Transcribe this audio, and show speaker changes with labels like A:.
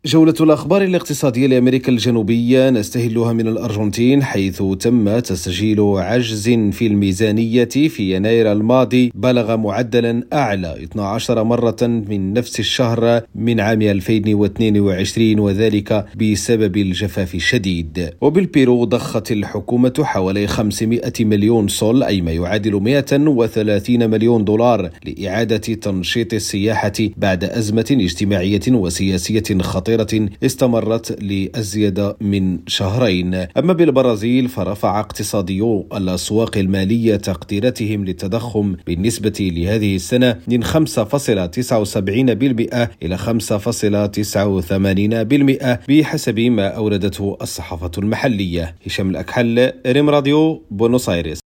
A: جولة الأخبار الاقتصادية لأمريكا الجنوبية نستهلها من الأرجنتين، حيث تم تسجيل عجز في الميزانية في يناير الماضي بلغ معدلا أعلى 12 مرة من نفس الشهر من عام 2022، وذلك بسبب الجفاف الشديد. وبالبيرو ضخت الحكومة حوالي 500 مليون سول، أي ما يعادل 130 مليون دولار، لإعادة تنشيط السياحة بعد أزمة اجتماعية وسياسية خطيرة استمرت لأزيد من شهرين. أما بالبرازيل فرفع اقتصاديو الأسواق المالية تقديراتهم للتضخم بالنسبة لهذه السنة من 5.79% إلى 5.89% بحسب ما أوردته الصحافة المحلية. هشام الأكحل، ريم راديو، بونوس آيرس.